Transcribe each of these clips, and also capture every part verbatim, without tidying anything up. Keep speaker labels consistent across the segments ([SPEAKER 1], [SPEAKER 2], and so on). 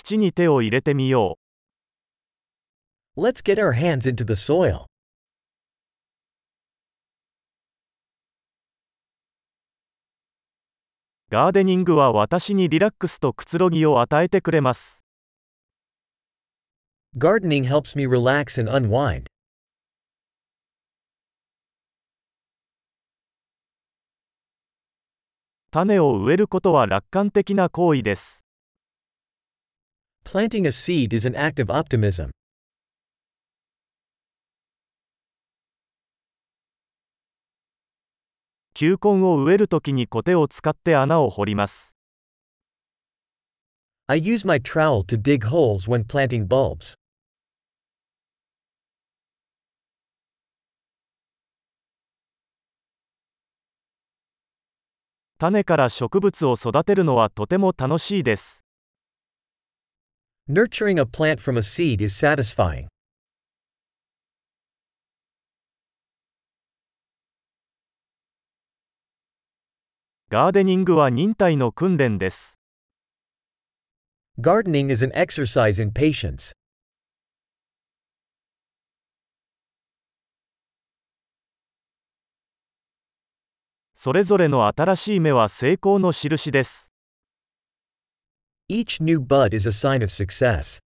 [SPEAKER 1] 土に手を入れてみよう。
[SPEAKER 2] Let's get our hands into the soil.
[SPEAKER 1] ガーデニングは私にリラックスとくつろぎを与えてくれます。
[SPEAKER 2] Gardening helps me relax and unwind.
[SPEAKER 1] 種を植えることは楽観的な行為です。
[SPEAKER 2] Planting a seed is an act of optimism.
[SPEAKER 1] 球根を植えるときにコテを使って穴を掘ります。
[SPEAKER 2] I use my trowel to dig holes when planting bulbs.
[SPEAKER 1] 種から植物を育てるのはとても楽しいです。
[SPEAKER 2] Nurturing a plant from a seed is satisfying.
[SPEAKER 1] ガーデニングは忍耐の訓練です。
[SPEAKER 2] Gardening is an exercise in patience.
[SPEAKER 1] それぞれの新しい芽は成功の印です。
[SPEAKER 2] Each new bud is a sign of success.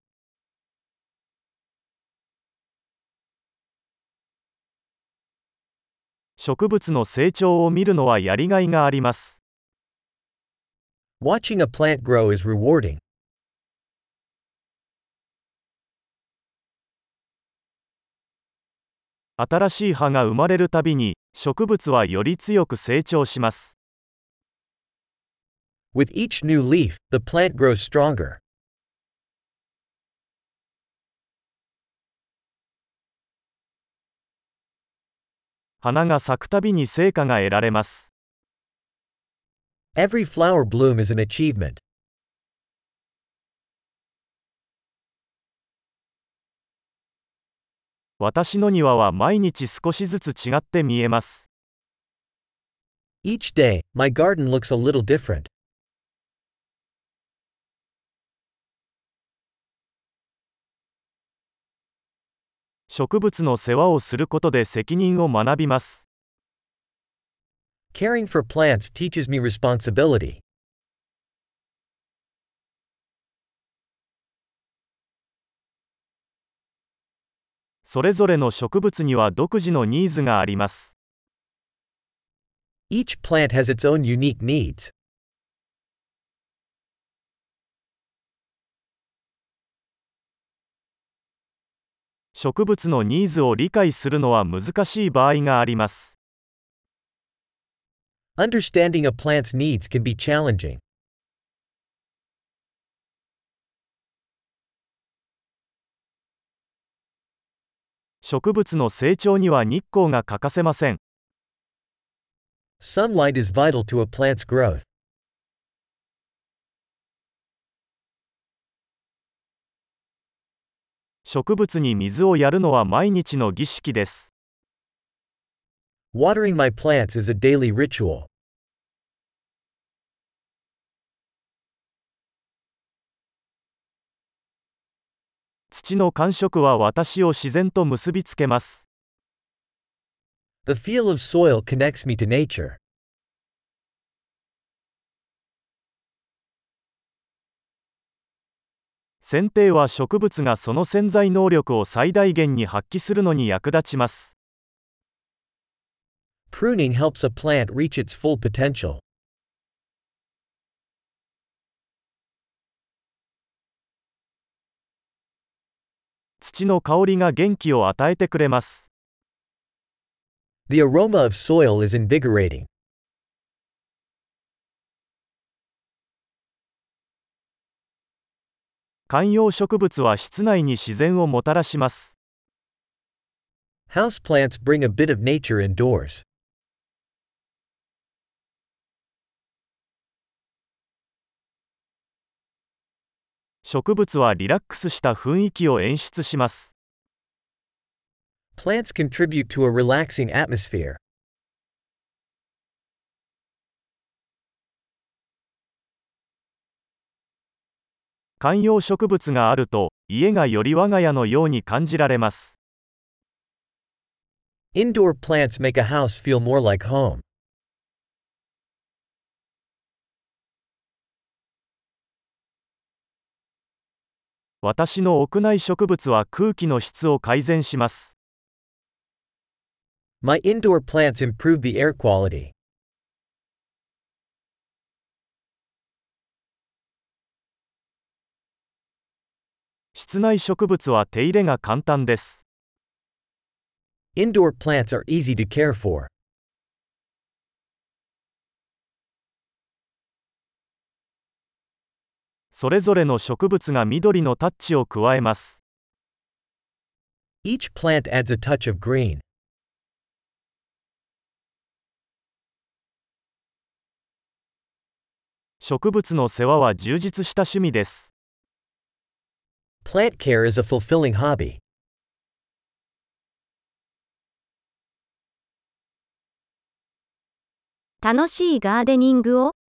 [SPEAKER 1] 植物の成長を見るのはやりがいがあります。
[SPEAKER 2] Watching a plant grow is rewarding.
[SPEAKER 1] 新しい葉が生まれるたびに、植物はより強く成長します。
[SPEAKER 2] With each new leaf, the plant grows stronger.
[SPEAKER 1] 花が咲くたびに成果が得られます。
[SPEAKER 2] Every flower bloom is an achievement.
[SPEAKER 1] 私の庭は毎日少しずつ違って見えます。
[SPEAKER 2] Each day, my garden looks a little different.
[SPEAKER 1] 植物の世話をすることで責任を学びます。
[SPEAKER 2] Caring for plants teaches me responsibility.
[SPEAKER 1] それぞれの植物には独自のニーズがあります。
[SPEAKER 2] Each plant has its own unique needs.
[SPEAKER 1] 植物のニーズを理解するのは難しい場合があります。
[SPEAKER 2] Understanding a plant's needs can be challenging.
[SPEAKER 1] 植物の成長には日光が欠かせません。
[SPEAKER 2] Sunlight is vital to a plant's growth.
[SPEAKER 1] 植物に水をやるのは毎日の儀式です。
[SPEAKER 2] Watering my plants is a daily ritual.
[SPEAKER 1] 土の感触は私を自然と結びつけます。
[SPEAKER 2] The feel of soil connects me to nature.
[SPEAKER 1] 剪定は植物がその潜在能力を最大限に発揮するのに役立ちます。
[SPEAKER 2] Pruning helps a plant reach its full potential.
[SPEAKER 1] 土の香りが元気を与えてくれます。
[SPEAKER 2] The aroma of soil is invigorating.
[SPEAKER 1] 観葉植物は室内に自然をもたらします。
[SPEAKER 2] Houseplants bring a bit of nature indoors.
[SPEAKER 1] 植物はリラックスした雰囲気を演出します。
[SPEAKER 2] Plants contribute to a relaxing atmosphere.
[SPEAKER 1] 観葉植物があると、家がより我が家のように感じられます。
[SPEAKER 2] Indoor plants make a house feel more like home.
[SPEAKER 1] 私の屋内植物は空気の質を改善します。
[SPEAKER 2] My indoor plants improve the air quality.
[SPEAKER 1] 室内植物は手入れが簡単です。
[SPEAKER 2] Indoor plants are easy to care for.
[SPEAKER 1] それぞれの植物が緑のタッチを加えます。
[SPEAKER 2] Each plant adds a touch of green.
[SPEAKER 1] 植物の世話は充実した趣味です。
[SPEAKER 2] Plant care is a fulfilling hobby.
[SPEAKER 3] 楽しいガーデニングを